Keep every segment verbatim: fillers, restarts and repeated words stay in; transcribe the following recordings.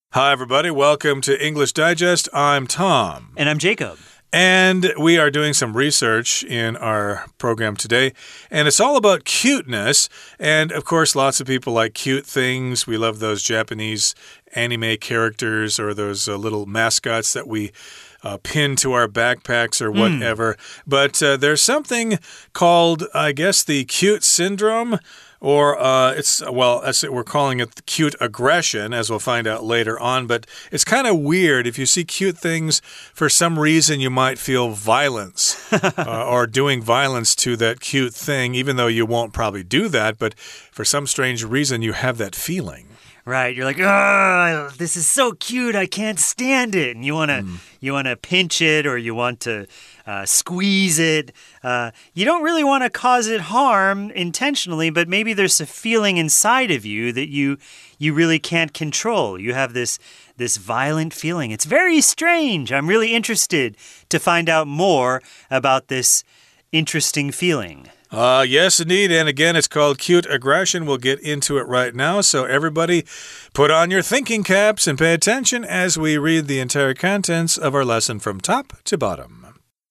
Hi, everybody. Welcome to English Digest. I'm Tom. And I'm Jacob. And we are doing some research in our program today, and it's all about cuteness. And, of course, lots of people like cute things. We love those Japanese anime characters or those uh, little mascots that we uh, pin to our backpacks or whatever. Mm. But uh, there's something called, I guess, the cute syndrome. Or uh, it's, well, we're calling it cute aggression, as we'll find out later on. But it's kind of weird. If you see cute things, for some reason you might feel violence uh, or doing violence to that cute thing, even though you won't probably do that. But for some strange reason, you have that feeling. Right, you're like, oh, this is so cute, I can't stand it. And you want to mm. you want to pinch it or you want to uh, squeeze it. Uh, you don't really want to cause it harm intentionally, but maybe there's a feeling inside of you that you you really can't control. You have this this violent feeling. It's very strange. I'm really interested to find out more about this interesting feeling. Uh, yes, indeed. And again, it's called cute aggression. We'll get into it right now. So everybody put on your thinking caps and pay attention as we read the entire contents of our lesson from top to bottom.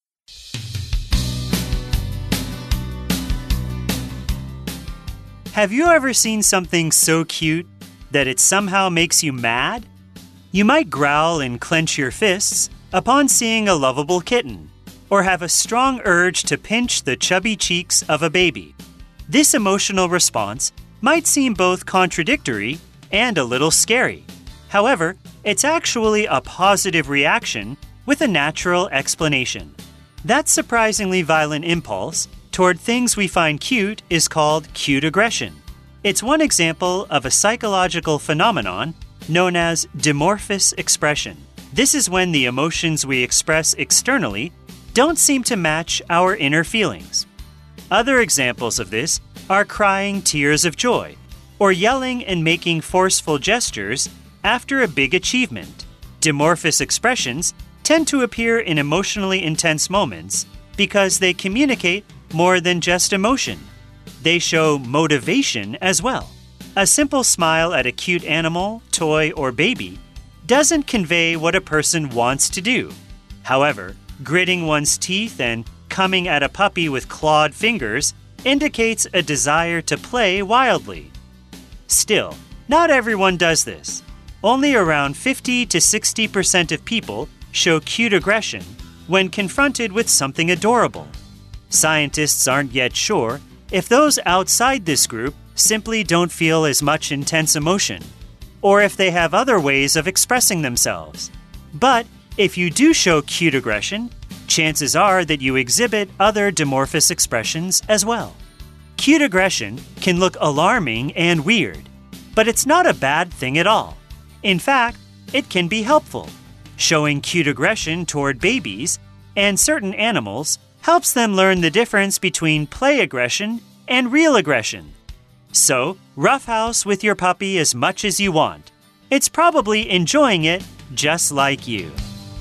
Have you ever seen something so cute that it somehow makes you mad? You might growl and clench your fists upon seeing a lovable kitten, or have a strong urge to pinch the chubby cheeks of a baby. This emotional response might seem both contradictory and a little scary. However, it's actually a positive reaction with a natural explanation. That surprisingly violent impulse toward things we find cute is called cute aggression. It's one example of a psychological phenomenon known as dimorphous expression. This is when the emotions we express externally don't seem to match our inner feelings. Other examples of this are crying tears of joy, or yelling and making forceful gestures after a big achievement. Dimorphous expressions tend to appear in emotionally intense moments because they communicate more than just emotion. They show motivation as well. A simple smile at a cute animal, toy, or baby doesn't convey what a person wants to do. However, gritting one's teeth and coming at a puppy with clawed fingers indicates a desire to play wildly. Still, not everyone does this. Only around fifty to sixty percent of people show cute aggression when confronted with something adorable. Scientists aren't yet sure if those outside this group simply don't feel as much intense emotion, or if they have other ways of expressing themselves. But if you do show cute aggression, chances are that you exhibit other dimorphous expressions as well. Cute aggression can look alarming and weird, but it's not a bad thing at all. In fact, it can be helpful. Showing cute aggression toward babies and certain animals helps them learn the difference between play aggression and real aggression. So, roughhouse with your puppy as much as you want. It's probably enjoying it just like you.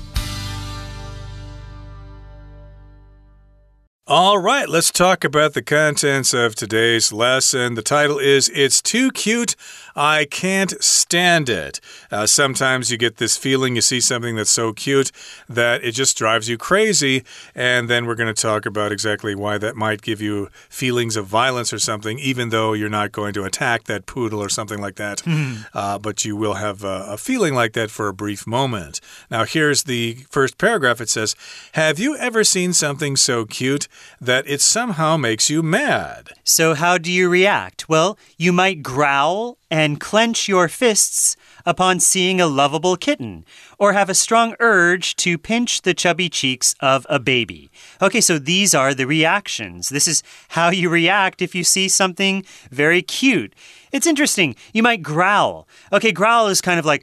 All right, let's talk about the contents of today's lesson. The title is It's Too Cute, I Can't Stand It. Uh, sometimes you get this feeling, you see something that's so cute that it just drives you crazy. And then we're going to talk about exactly why that might give you feelings of violence or something, even though you're not going to attack that poodle or something like that. Mm. Uh, but you will have a, a feeling like that for a brief moment. Now, here's the first paragraph. It says, have you ever seen something so cute that it somehow makes you mad? So how do you react? Well, you might growl and clench your fists upon seeing a lovable kitten, or have a strong urge to pinch the chubby cheeks of a baby. Okay, so these are the reactions. This is how you react if you see something very cute. It's interesting. You might growl. Okay, growl is kind of like,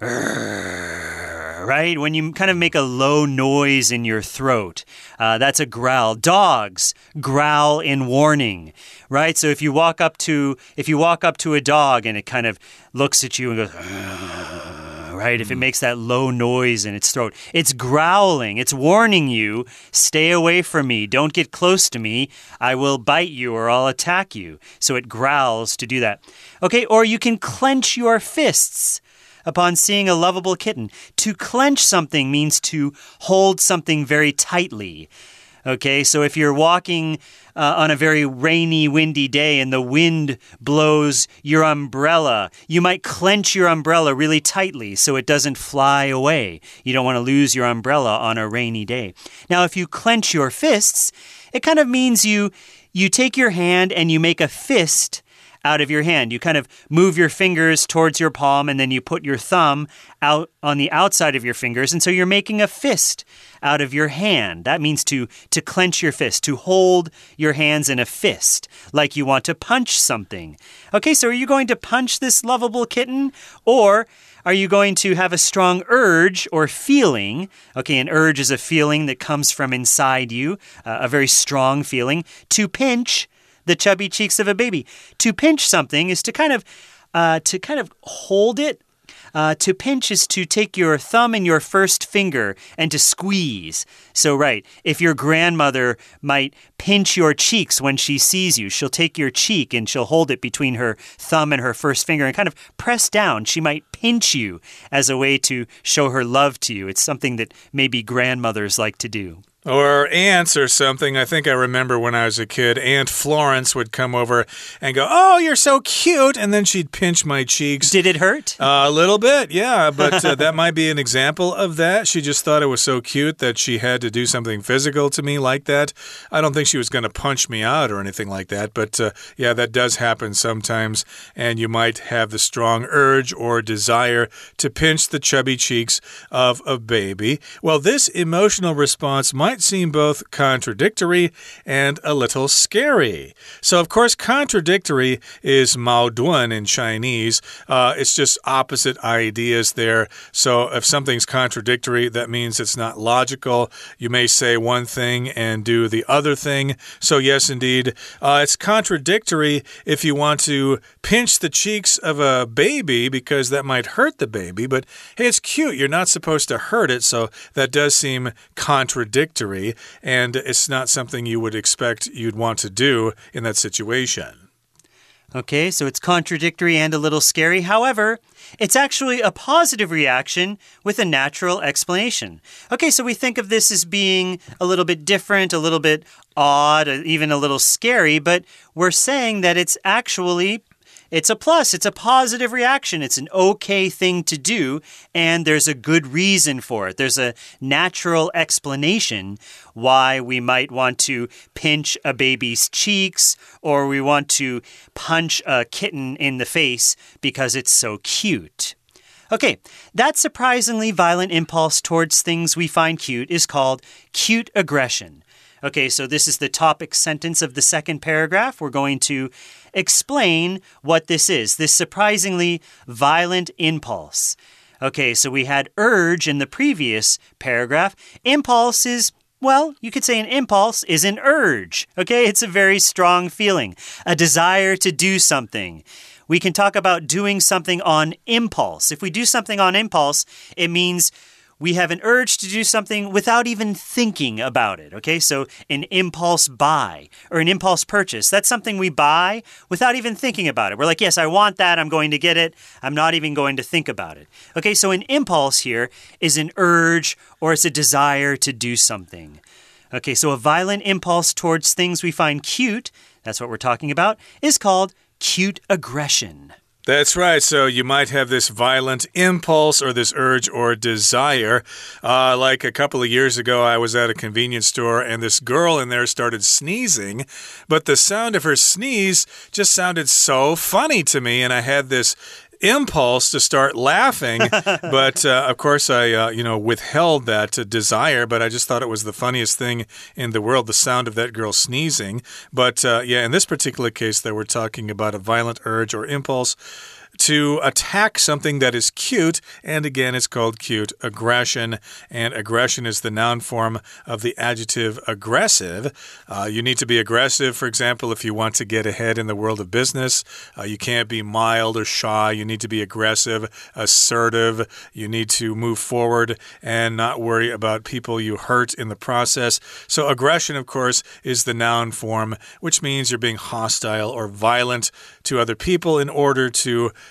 right? When you kind of make a low noise in your throat, uh, that's a growl. Dogs growl in warning, right? So if you walk up to if you walk up to a dog and it kind of looks at you and goes, right? If it makes that low noise in its throat, it's growling. It's warning you, stay away from me. Don't get close to me. I will bite you or I'll attack you. So it growls to do that. Okay, or you can clench your fists. upon seeing a lovable kitten. To clench something means to hold something very tightly. Okay, so if you're walking uh, on a very rainy, windy day and the wind blows your umbrella, you might clench your umbrella really tightly so it doesn't fly away. You don't want to lose your umbrella on a rainy day. Now, if you clench your fists, it kind of means you, you take your hand and you make a fist out of your hand. You kind of move your fingers towards your palm and then you put your thumb out on the outside of your fingers. And so you're making a fist out of your hand. That means to, to clench your fist, to hold your hands in a fist, like you want to punch something. Okay, so are you going to punch this lovable kitten? Or are you going to have a strong urge or feeling? Okay, an urge is a feeling that comes from inside you, uh, a very strong feeling, to pinch the chubby cheeks of a baby. To pinch something is to kind of, uh, to kind of hold it. Uh, to pinch is to take your thumb and your first finger and to squeeze. So, right, if your grandmother might pinch your cheeks when she sees you, she'll take your cheek and she'll hold it between her thumb and her first finger and kind of press down. She might pinch you as a way to show her love to you. It's something that maybe grandmothers like to do. Or aunts or something. I think I remember when I was a kid, Aunt Florence would come over and go, "Oh, you're so cute." And then she'd pinch my cheeks. Did it hurt? Uh, a little bit, yeah. But uh, that might be an example of that. She just thought it was so cute that she had to do something physical to me like that. I don't think she was going to punch me out or anything like that. But uh, yeah, that does happen sometimes. And you might have the strong urge or desire to pinch the chubby cheeks of a baby. Well, this emotional response might seem both contradictory and a little scary. So, of course, contradictory is 矛盾 in Chinese. Uh, it's just opposite ideas there. So, if something's contradictory, that means it's not logical. You may say one thing and do the other thing. So, yes, indeed, uh, it's contradictory if you want to pinch the cheeks of a baby because that might hurt the baby. But, hey, it's cute. You're not supposed to hurt it. So, that does seem contradictory. And it's not something you would expect you'd want to do in that situation. Okay, so it's contradictory and a little scary. However, it's actually a positive reaction with a natural explanation. Okay, so we think of this as being a little bit different, a little bit odd, even a little scary, but we're saying that it's actually It's a plus. It's a positive reaction. It's an okay thing to do, and there's a good reason for it. There's a natural explanation why we might want to pinch a baby's cheeks or we want to punch a kitten in the face because it's so cute. Okay, that surprisingly violent impulse towards things we find cute is called cute aggression. Okay, so this is the topic sentence of the second paragraph. We're going to explain what this is, this surprisingly violent impulse. Okay, so we had urge in the previous paragraph. Impulse is, well, you could say an impulse is an urge. Okay, it's a very strong feeling, a desire to do something. We can talk about doing something on impulse. If we do something on impulse, it means we have an urge to do something without even thinking about it, okay? So an impulse buy or an impulse purchase, that's something we buy without even thinking about it. We're like, yes, I want that. I'm going to get it. I'm not even going to think about it. Okay, so an impulse here is an urge or it's a desire to do something. Okay, so a violent impulse towards things we find cute, that's what we're talking about, is called cute aggression. That's right. So you might have this violent impulse or this urge or desire. Uh, like a couple of years ago, I was at a convenience store and this girl in there started sneezing, but the sound of her sneeze just sounded so funny to me, and I had this impulse to start laughing, but uh, of course I, uh, you know, withheld that uh, desire, but I just thought it was the funniest thing in the world, the sound of that girl sneezing. But uh, yeah, in this particular case, though, we're talking about a violent urge or impulse to attack something that is cute, and again, it's called cute aggression, and aggression is the noun form of the adjective aggressive. Uh, you need to be aggressive, for example, if you want to get ahead in the world of business. Uh, you can't be mild or shy. You need to be aggressive, assertive. You need to move forward and not worry about people you hurt in the process. So aggression, of course, is the noun form, which means you're being hostile or violent to other people in order to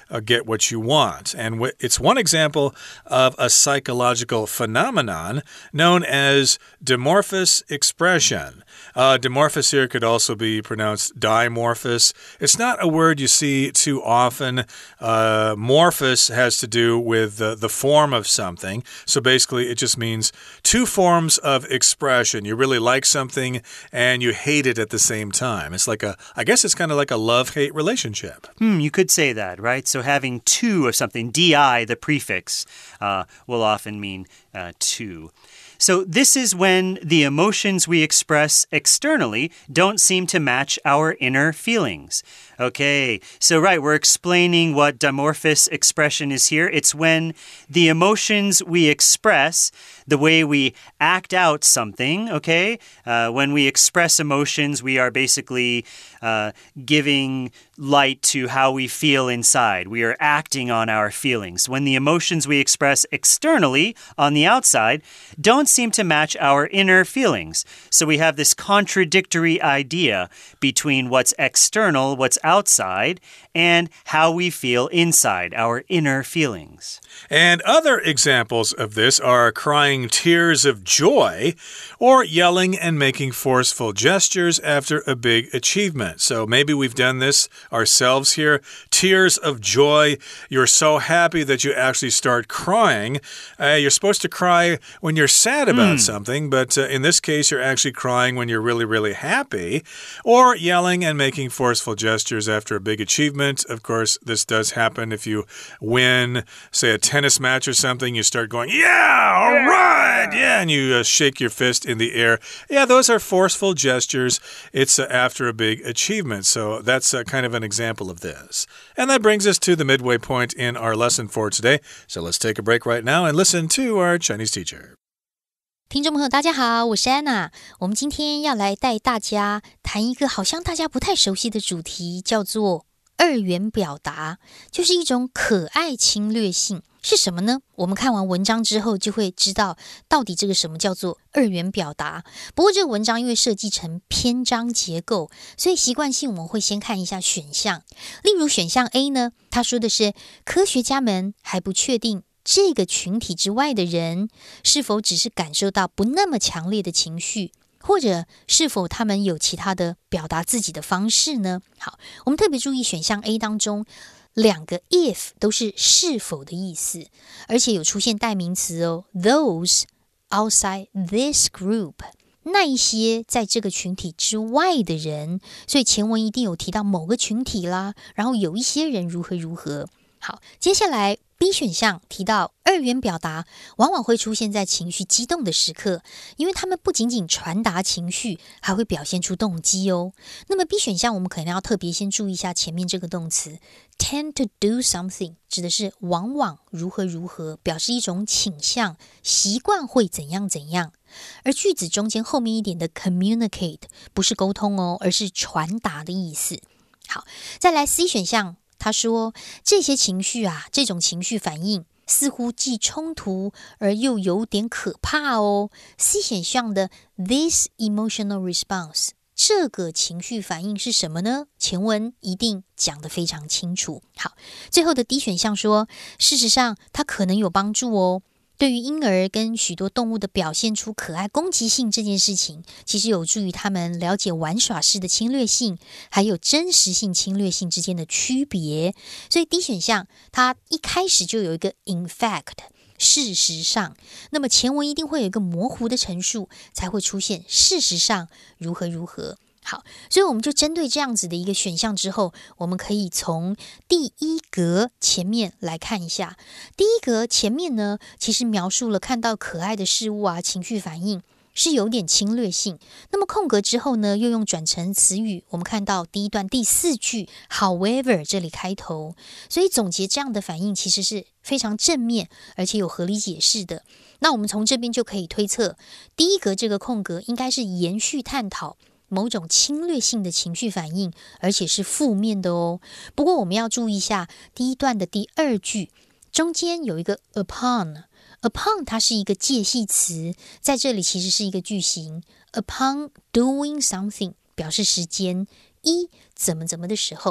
uh, get what you want. And w it's one example of a psychological phenomenon known as dimorphous expression. Uh, dimorphous here could also be pronounced dimorphous. It's not a word you see too often. Uh, morphous has to do with the, the form of something. So basically, it just means two forms of expression. You really like something and you hate it at the same time. It's like a, I guess it's kind of like a love-hate relationship. Hmm, you could say that, right? So having two of something, di, the prefix, uh, will often mean uh, two. So this is when the emotions we express externally don't seem to match our inner feelings. Okay, so right, we're explaining what dimorphous expression is here. It's when the emotions we express, the way we act out something, okay? Uh, when we express emotions, we are basically uh, giving light to how we feel inside. We are acting on our feelings. When the emotions we express externally, on the outside, don't seem to match our inner feelings. So we have this contradictory idea between what's external, what's outside, and how we feel inside, our inner feelings. And other examples of this are crying tears of joy or yelling and making forceful gestures after a big achievement. So maybe we've done this ourselves here. Tears of joy. You're so happy that you actually start crying. Uh, you're supposed to cry when you're sad about mm. something, but uh, in this case, you're actually crying when you're really, really happy. Or yelling and making forceful gestures after a big achievement. Of course, this does happen if you win, say, a tennis match or something. You start going, yeah, all yeah. right, yeah, and you uh, shake your fist in the air. Yeah, those are forceful gestures. It's uh, after a big achievement. So that's uh, kind of an example of this. And that brings us to the midway point in our lesson for today. So let's take a break right now and listen to our Chinese teacher. 听众朋友大家好，我是安娜。我们今天要来带大家谈一个好像大家不太熟悉的主题，叫做二元表達，就是一種可愛侵略性。是什麼呢？我們看完文章之後就會知道到底這個什麼叫做二元表達。不過這個文章因為設計成篇章結構，所以習慣性我們會先看一下選項。例如選項 A 呢，他說的是科學家們還不確定這個群體之外的人是否只是感受到不那麼強烈的情緒，或者是否他們有其他的表達自己的方式呢？好，我們特別注意選項 A 當中兩個 if 都是是否的意思，而且有出現代名詞哦 those outside this group 那一些在這個群體之外的人，所以前文一定有提到某個群體啦，然後有一些人如何如何。好，接下來 B 選項提到二元表達往往會出現在情緒激動的時刻，因為他們不僅僅傳達情緒，還會表現出動機哦。那麼 B 選項我們可能要特別先注意一下前面這個動詞 tend to do something 指的是往往如何如何，表示一種傾向，習慣會怎樣怎樣。而句子中間後面一點的 communicate 不是溝通哦，而是傳達的意思。好，再來 C 選項他說這些情緒啊，這種情緒反應似乎既衝突而又有點可怕哦。C 選項的 this emotional response 這個情緒反應是什麼呢？前文一定講得非常清楚。好，最後的 D 選項說事實上它可能有幫助哦。對於嬰兒跟許多動物的表現出可愛攻擊性這件事情，其實有助於他們了解玩耍式的侵略性還有真實性侵略性之間的區別。所以 D 選項它一開始就有一個 in fact 事實上，那麼前文一定會有一個模糊的陳述，才會出現事實上如何如何。好，所以我們就針對這樣子的一個選項之後，我們可以從第一格前面來看一下。第一格前面呢，其實描述了看到可愛的事物啊，情緒反應是有點侵略性。那麼空格之後呢，又用轉成詞語，我們看到第一段第四句 however 這裡開頭，所以總結這樣的反應其實是非常正面，而且有合理解釋的。那我們從這邊就可以推測，第一格這個空格應該是延續探討某種侵略性的情緒反應，而且是負面的哦。不過我們要注意一下第一段的第二句中間有一個 upon， upon 它是一個介系詞，在這裡其實是一個句型 upon doing something 表示時間一怎麼怎麼的時候。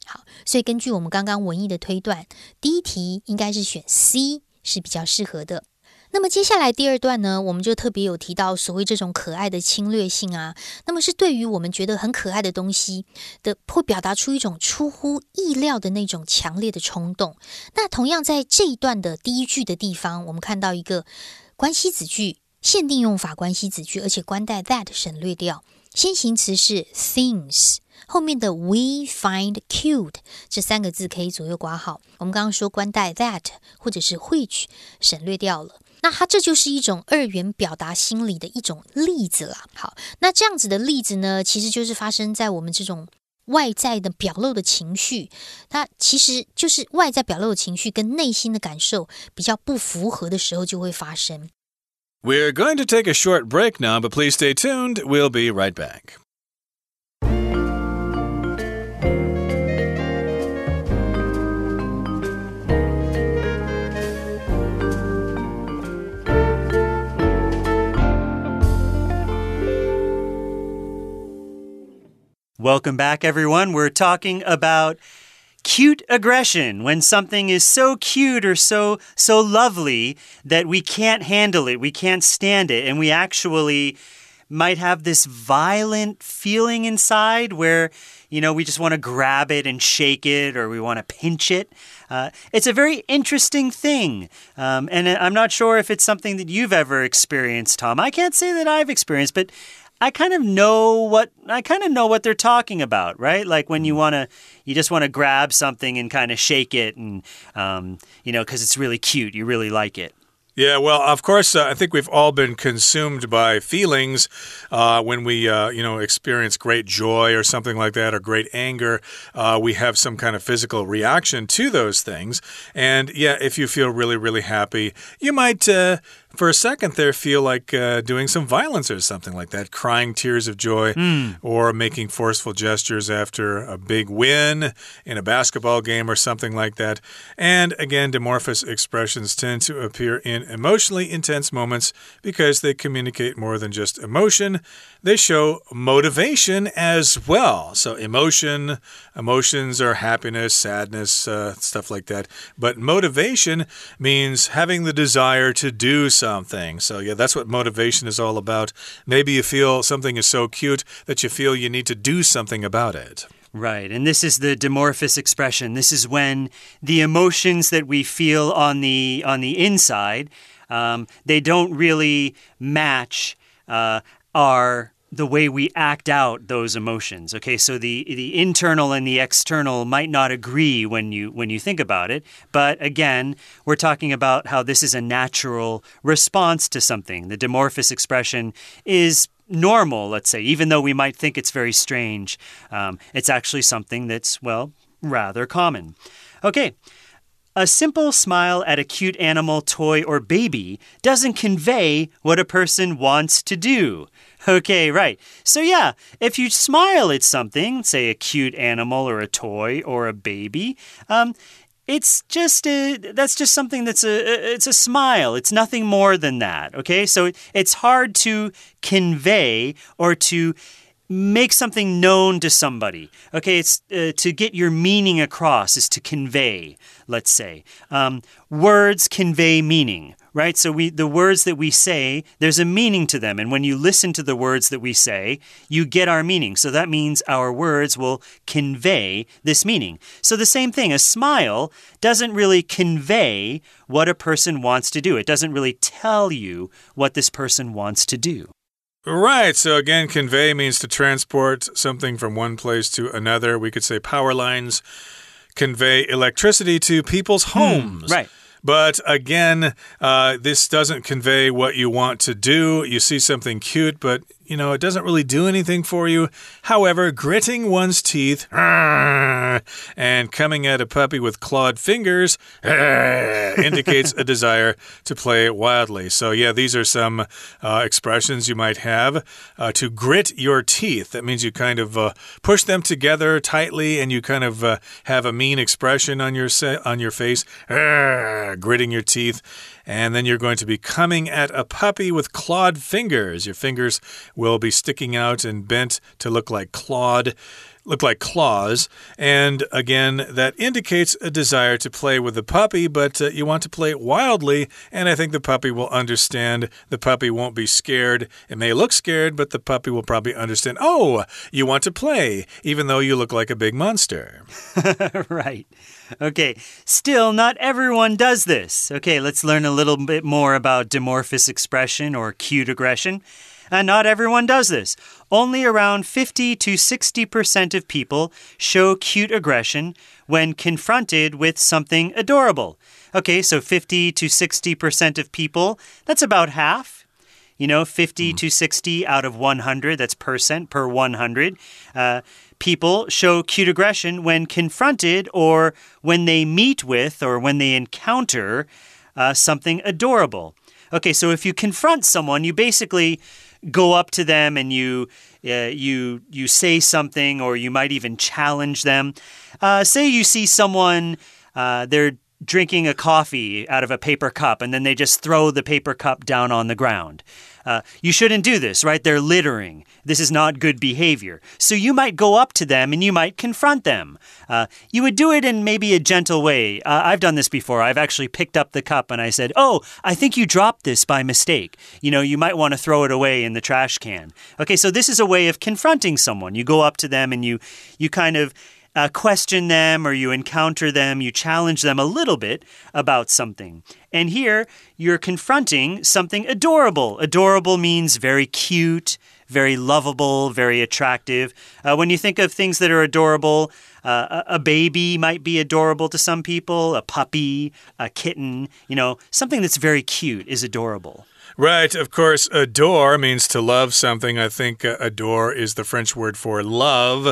好，所以根據我們剛剛文意的推斷，第一題應該是選 C 是比較適合的。那麼接下來第二段呢，我們就特別有提到所謂這種可愛的侵略性啊，那麼是對於我們覺得很可愛的東西的，會表達出一種出乎意料的那種強烈的衝動。那同樣在這一段的第一句的地方，我們看到一個關係子句，限定用法關係子句，而且關帶 that 省略掉，先行詞是 things， 後面的 we find cute 這三個字可以左右括號。我們剛剛說關帶 that 或者是 which 省略掉了。那它這就是一種二元表達心理的一種例子啦。好，那這樣子的例子呢，其實就是發生在我們這種外在的表露的情緒，它其實就是外在表露的情緒跟內心的感受比較不符合的時候就會發生。 We're going to take a short break now, but please stay tuned. We'll be right back. Welcome back, everyone. We're talking about cute aggression, when something is so cute or so so lovely that we can't handle it, we can't stand it, and we actually might have this violent feeling inside where, you know, we just want to grab it and shake it, or we want to pinch it. Uh, it's a very interesting thing, um, and I'm not sure if it's something that you've ever experienced, Tom. I can't say that I've experienced, but I kind of know what I kind of know what they're talking about, right? Like when you want to, you just want to grab something and kind of shake it, and um, you know, because it's really cute, you really like it. Yeah, well, of course, uh, I think we've all been consumed by feelings uh, when we, uh, you know, experience great joy or something like that, or great anger. Uh, we have some kind of physical reaction to those things. And yeah, if you feel really, really happy, you might, uh, for a second there, feel like uh, doing some violence or something like that, crying tears of joy, mm. or making forceful gestures after a big win in a basketball game or something like that. And again, dimorphous expressions tend to appear in emotionally intense moments because they communicate more than just emotion. They show motivation as well. So emotion, emotions are happiness, sadness, uh, stuff like that. But motivation means having the desire to do something. So yeah, that's what motivation is all about. Maybe you feel something is so cute that you feel you need to do something about it. Right, and this is the dimorphous expression. This is when the emotions that we feel on the on the inside, um, they don't really match uh, our the way we act out those emotions. Okay, so the the internal and the external might not agree when you when you think about it. But again, we're talking about how this is a natural response to something. The dimorphous expression is normal, let's say, even though we might think it's very strange. Um, it's actually something that's, well, rather common. Okay. A simple smile at a cute animal, toy, or baby doesn't convey what a person wants to do. Okay, right. So yeah, if you smile at something, say a cute animal or a toy or a baby, um, It's just a, that's just something that's a, it's a smile. It's nothing more than that, okay? So it's hard to convey or to make something known to somebody. Okay, it's uh, to get your meaning across is to convey, let's say. Um, words convey meaning, right? So we the words that we say, there's a meaning to them. And when you listen to the words that we say, you get our meaning. So that means our words will convey this meaning. So the same thing, a smile doesn't really convey what a person wants to do. It doesn't really tell you what this person wants to do. Right, so again, convey means to transport something from one place to another. We could say power lines convey electricity to people's homes. Mm, right. But again, uh, this doesn't convey what you want to do. You see something cute, but, you know, it doesn't really do anything for you. However, gritting one's teeth and coming at a puppy with clawed fingers indicates a desire to play wildly. So, yeah, these are some uh, expressions you might have. Uh, to grit your teeth, that means you kind of uh, push them together tightly and you kind of uh, have a mean expression on your, on your face. Gritting your teeth, and then you're going to be coming at a puppy with clawed fingers. Your fingers will be sticking out and bent to look like clawed. look like claws. And again, that indicates a desire to play with the puppy, but uh, you want to play wildly, and I think the puppy will understand. The puppy won't be scared. It may look scared, but the puppy will probably understand, oh, you want to play, even though you look like a big monster. Right. Okay, still, not everyone does this. Okay, let's learn a little bit more about dimorphous expression or cute aggression. And not everyone does this. Only around fifty to sixty percent of people show cute aggression when confronted with something adorable. Okay, so fifty to sixty percent of people, that's about half. You know, fifty mm. to sixty out of one hundred, that's percent per one hundred. Uh, people show cute aggression when confronted or when they meet with or when they encounter uh, something adorable. Okay, so if you confront someone, you basically go up to them and you uh, you you say something, or you might even challenge them. Uh, say you see someone, uh, they're drinking a coffee out of a paper cup, and then they just throw the paper cup down on the ground. Uh, you shouldn't do this, right? They're littering. This is not good behavior. So you might go up to them and you might confront them. Uh, you would do it in maybe a gentle way. Uh, I've done this before. I've actually picked up the cup and I said, oh, I think you dropped this by mistake. You know, you might want to throw it away in the trash can. Okay, so this is a way of confronting someone. You go up to them and you, you kind of Uh, question them, or you encounter them, you challenge them a little bit about something. And here, you're confronting something adorable. Adorable means very cute, very lovable, very attractive. Uh, when you think of things that are adorable, uh, a, a baby might be adorable to some people, a puppy, a kitten, you know, something that's very cute is adorable. Right, of course, adore means to love something. I think uh, adore is the French word for love.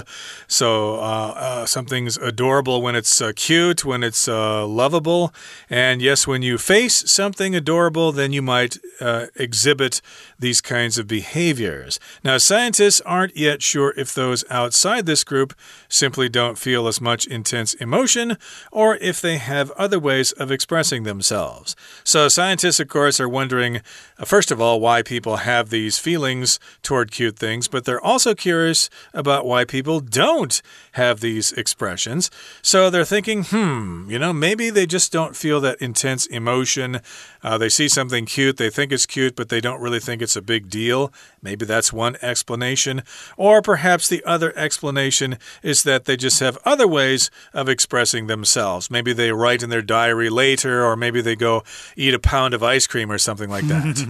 So uh, uh, something's adorable when it's uh, cute, when it's uh, lovable. And yes, when you face something adorable, then you might uh, exhibit these kinds of behaviors. Now, scientists aren't yet sure if those outside this group simply don't feel as much intense emotion, or if they have other ways of expressing themselves. So scientists, of course, are wondering, first of all, why people have these feelings toward cute things, but they're also curious about why people don't have these expressions. So they're thinking, hmm, you know, maybe they just don't feel that intense emotion. Uh, they see something cute, they think it's cute, but they don't really think it's a big deal. Maybe that's one explanation. Or perhaps the other explanation is that they just have other ways of expressing themselves. Maybe they write in their diary later, or maybe they go eat a pound of ice cream or something like that.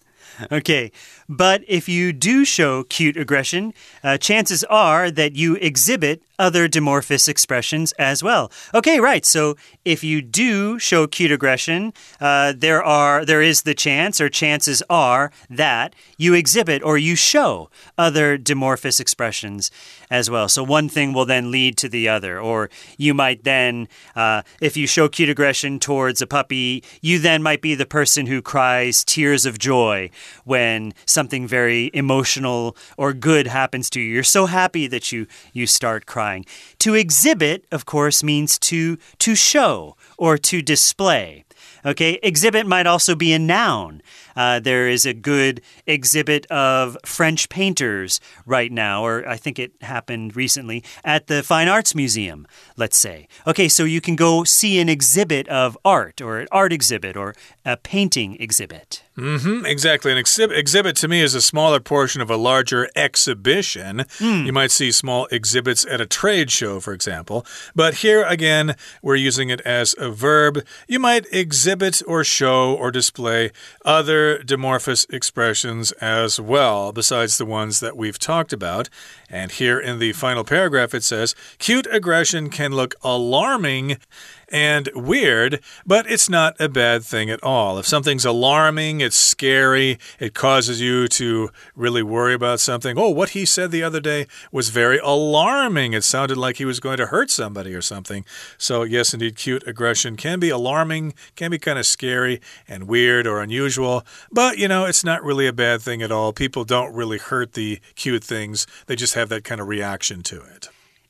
Okay, but if you do show cute aggression, uh, chances are that you exhibit other dimorphous expressions as well. Okay, right. So if you do show cute aggression, uh, there are there is the chance, or chances are, that you exhibit or you show other dimorphous expressions as well. So one thing will then lead to the other. Or you might then, uh, if you show cute aggression towards a puppy, you then might be the person who cries tears of joy when something very emotional or good happens to you. You're so happy that you, you start crying. To exhibit, of course, means to, to show or to display. Okay, exhibit might also be a noun. Uh, there is a good exhibit of French painters right now, or I think it happened recently, at the Fine Arts Museum, let's say. Okay, so you can go see an exhibit of art, or an art exhibit, or a painting exhibit. Mm-hmm, exactly. An exhibit, exhibit to me is a smaller portion of a larger exhibition. Mm. You might see small exhibits at a trade show, for example. But here, again, we're using it as a verb. You might exhibit or show or display other dimorphous expressions as well, besides the ones that we've talked about. And here in the final paragraph, it says, cute aggression can look alarming and weird, but it's not a bad thing at all. If something's alarming, it's scary, it causes you to really worry about something. Oh, what he said the other day was very alarming. It sounded like he was going to hurt somebody or something. So yes, indeed, cute aggression can be alarming, can be kind of scary and weird or unusual, but, you know, it's not really a bad thing at all. People don't really hurt the cute things. They just have that kind of reaction to it.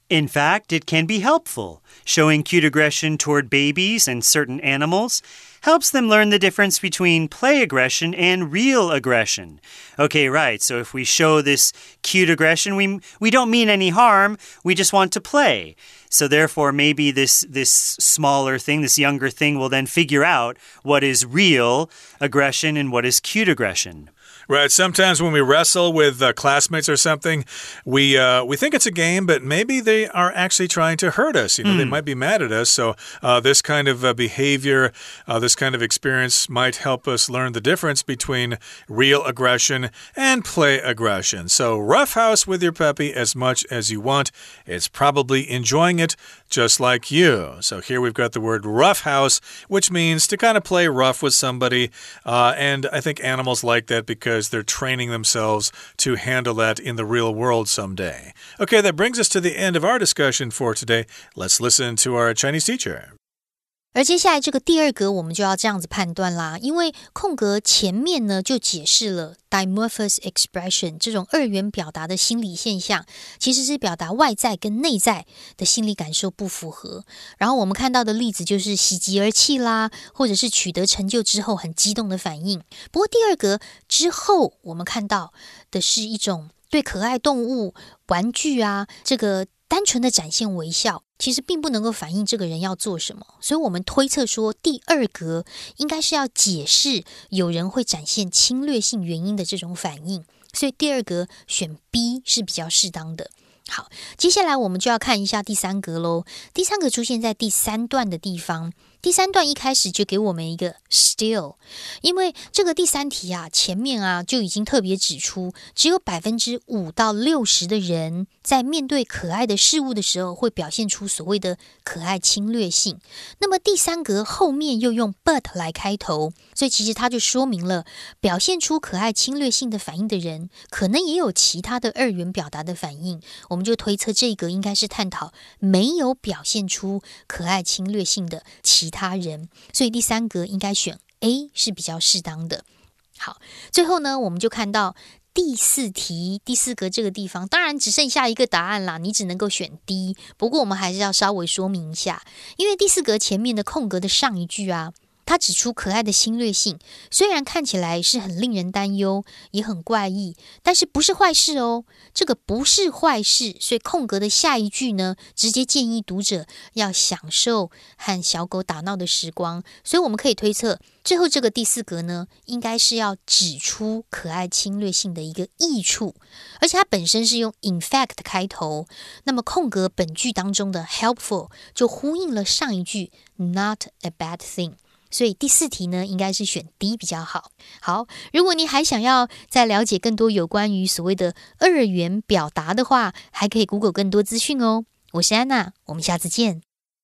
In fact, it can be helpful. Showing cute aggression toward babies and certain animals helps them learn the difference between play aggression and real aggression. Okay, right. So if we show this cute aggression, we we don't mean any harm. We just want to play. So therefore, maybe this this smaller thing, this younger thing, will then figure out what is real aggression and what is cute aggression. Right. Sometimes when we wrestle with uh, classmates or something, we uh, we think it's a game, but maybe they are actually trying to hurt us. You know, mm. they might be mad at us. So uh, this kind of uh, behavior, uh, this kind of experience might help us learn the difference between real aggression and play aggression. So roughhouse with your puppy as much as you want. It's probably enjoying it just like you. So here we've got the word roughhouse, which means to kind of play rough with somebody. Uh, and I think animals like that because they're training themselves to handle that in the real world someday. Okay, that brings us to the end of our discussion for today. Let's listen to our Chinese teacher. 而接下来这個第二格我們就要這樣子判斷啦，因為空格前面呢就解釋了 dimorphous expression 這種二元表達的心理現象，其實是表達外在跟內在的心理感受不符合。然後我們看到的例子就是喜極而泣啦，或者是取得成就之後很激動的反應。不過第二格之後我們看到的是一種對可愛動物、玩具啊，這個單純的展現微笑，其實並不能夠反映這個人要做什麼，所以我們推測說第二格應該是要解釋有人會展現侵略性原因的這種反應，所以第二格選 B 是比較適當的。好，接下來我們就要看一下第三格咯。第三格出現在第三段的地方，第三段一開始就給我們一個 still， 因為這個第三題啊，前面啊就已經特別指出，只有百分之五到六十的人在面對可愛的事物的時候，會表現出所謂的可愛侵略性。那麼第三格後面又用 but 來開頭，所以其實它就說明了，表現出可愛侵略性的反應的人，可能也有其他的二元表達的反應。我們就推測這個應該是探討沒有表現出可愛侵略性的其他人，所以第三格應該選 A 是比較適當的。好，最後呢，我們就看到第四題第四格這個地方，當然只剩下一個答案啦，你只能夠選 D。不過我們還是要稍微說明一下，因為第四格前面的空格的上一句啊，他指出可愛的侵略性，雖然看起來是很令人擔憂，也很怪異，但是不是壞事哦。這個不是壞事，所以空格的下一句呢，直接建議讀者要享受和小狗打鬧的時光。所以我們可以推測，最後這個第四格呢，應該是要指出可愛侵略性的一個益處，而且它本身是用 in fact 開頭，那麼空格本句當中的 helpful 就呼應了上一句 not a bad thing。所以第四題呢，應該是選 D 比較好。好，如果你還想要再了解更多有關於所謂的二元表達的話，還可以 Google 更多資訊哦。我是安娜，我們下次見。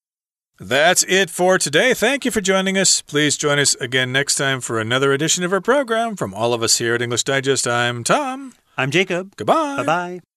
That's it for today. Thank you for joining us. Please join us again next time for another edition of our program. From all of us here at English Digest, I'm Tom. I'm Jacob. Goodbye. Bye-bye.